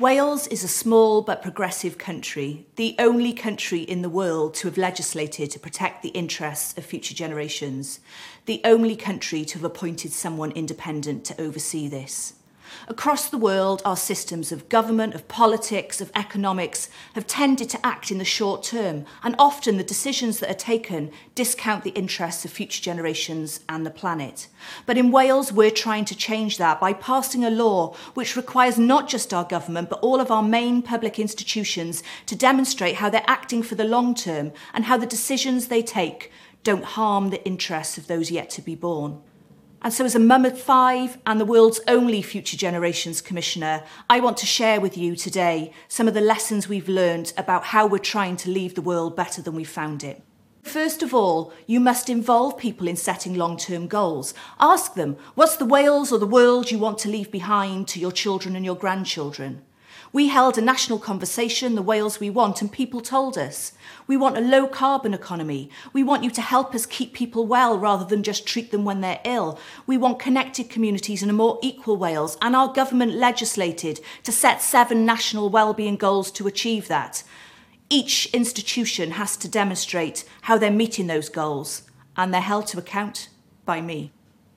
Wales is a small but progressive country, the only country in the world to have legislated to protect the interests of future generations, the only country to have appointed someone independent to oversee this. Across the world, our systems of government, of politics, of economics have tended to act in the short term, and often the decisions that are taken discount the interests of future generations and the planet. But in Wales, we're trying to change that by passing a law which requires not just our government, but all of our main public institutions to demonstrate how they're acting for the long term and how the decisions they take don't harm the interests of those yet to be born. And so as a mum of 5 and the world's only Future Generations Commissioner, I want to share with you today some of the lessons we've learned about how we're trying to leave the world better than we found it. First of all, you must involve people in setting long-term goals. Ask them, what's the Wales or the world you want to leave behind to your children and your grandchildren? We held a national conversation, the Wales we want, and people told us, we want a low carbon economy. We want you to help us keep people well rather than just treat them when they're ill. We want connected communities and a more equal Wales, and our government legislated to set 7 national wellbeing goals to achieve that. Each institution has to demonstrate how they're meeting those goals, and they're held to account by me.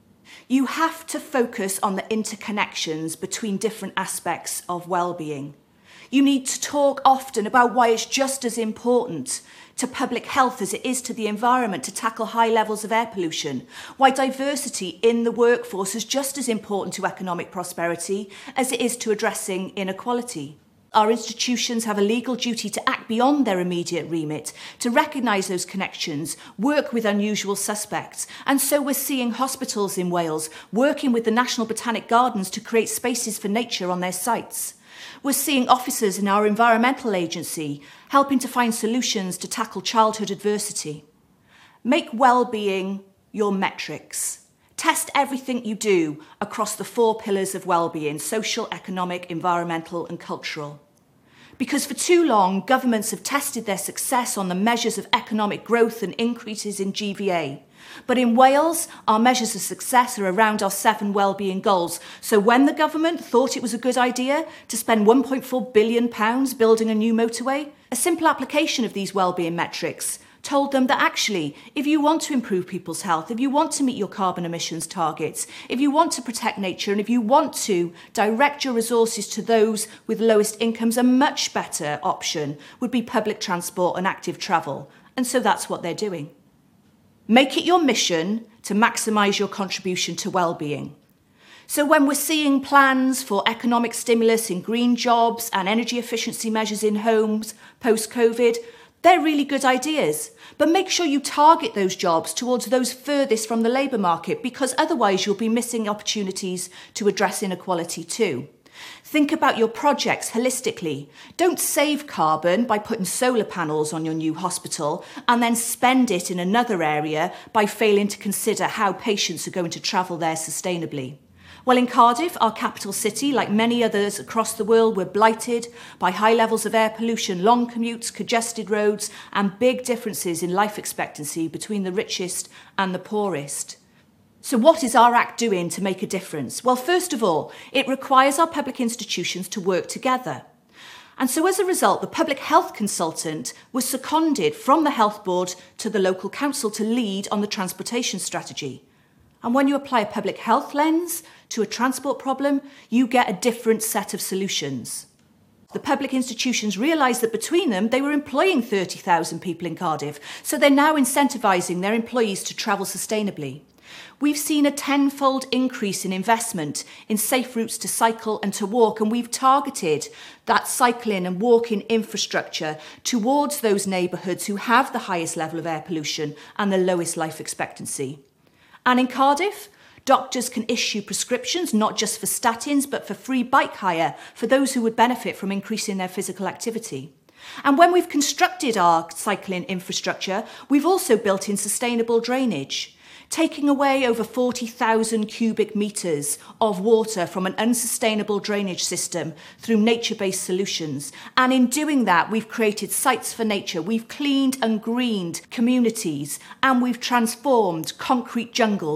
You have to focus on the interconnections between different aspects of well-being. You need to talk often about why it's just as important to public health as it is to the environment to tackle high levels of air pollution, why diversity in the workforce is just as important to economic prosperity as it is to addressing inequality. Our institutions have a legal duty to act beyond their immediate remit, to recognise those connections, work with unusual suspects. And so we're seeing hospitals in Wales working with the National Botanic Gardens to create spaces for nature on their sites. We're seeing officers in our environmental agency helping to find solutions to tackle childhood adversity. Make well-being your metrics. Test everything you do across the 4 pillars of well-being: social, economic, environmental and cultural. Because for too long, governments have tested their success on the measures of economic growth and increases in GVA. But in Wales, our measures of success are around our 7 wellbeing goals. So when the government thought it was a good idea to spend £1.4 billion building a new motorway, a simple application of these wellbeing metrics told them that actually, if you want to improve people's health, if you want to meet your carbon emissions targets, if you want to protect nature, and if you want to direct your resources to those with lowest incomes, a much better option would be public transport and active travel. And so that's what they're doing. Make it your mission to maximise your contribution to well-being. So when we're seeing plans for economic stimulus in green jobs and energy efficiency measures in homes post-COVID, they're really good ideas, but make sure you target those jobs towards those furthest from the labour market, because otherwise you'll be missing opportunities to address inequality too. Think about your projects holistically. Don't save carbon by putting solar panels on your new hospital and then spend it in another area by failing to consider how patients are going to travel there sustainably. Well, in Cardiff, our capital city, like many others across the world, we're blighted by high levels of air pollution, long commutes, congested roads, and big differences in life expectancy between the richest and the poorest. So what is our Act doing to make a difference? Well, first of all, it requires our public institutions to work together. And so as a result, the public health consultant was seconded from the health board to the local council to lead on the transportation strategy. And when you apply a public health lens to a transport problem, you get a different set of solutions. The public institutions realised that between them, they were employing 30,000 people in Cardiff, so they're now incentivising their employees to travel sustainably. We've seen a 10-fold increase in investment in safe routes to cycle and to walk, and we've targeted that cycling and walking infrastructure towards those neighbourhoods who have the highest level of air pollution and the lowest life expectancy. And in Cardiff, doctors can issue prescriptions not just for statins, but for free bike hire for those who would benefit from increasing their physical activity. And when we've constructed our cycling infrastructure, we've also built in sustainable drainage, taking away over 40,000 cubic metres of water from an unsustainable drainage system through nature-based solutions. And in doing that, we've created sites for nature, we've cleaned and greened communities, and we've transformed concrete jungles.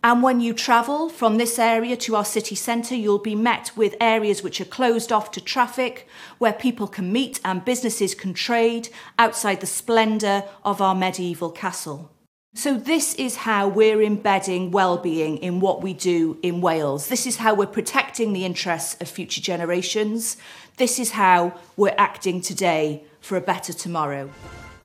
And when you travel from this area to our city centre, you'll be met with areas which are closed off to traffic, where people can meet and businesses can trade outside the splendour of our medieval castle. So this is how we're embedding well-being in what we do in Wales. This is how we're protecting the interests of future generations. This is how we're acting today for a better tomorrow.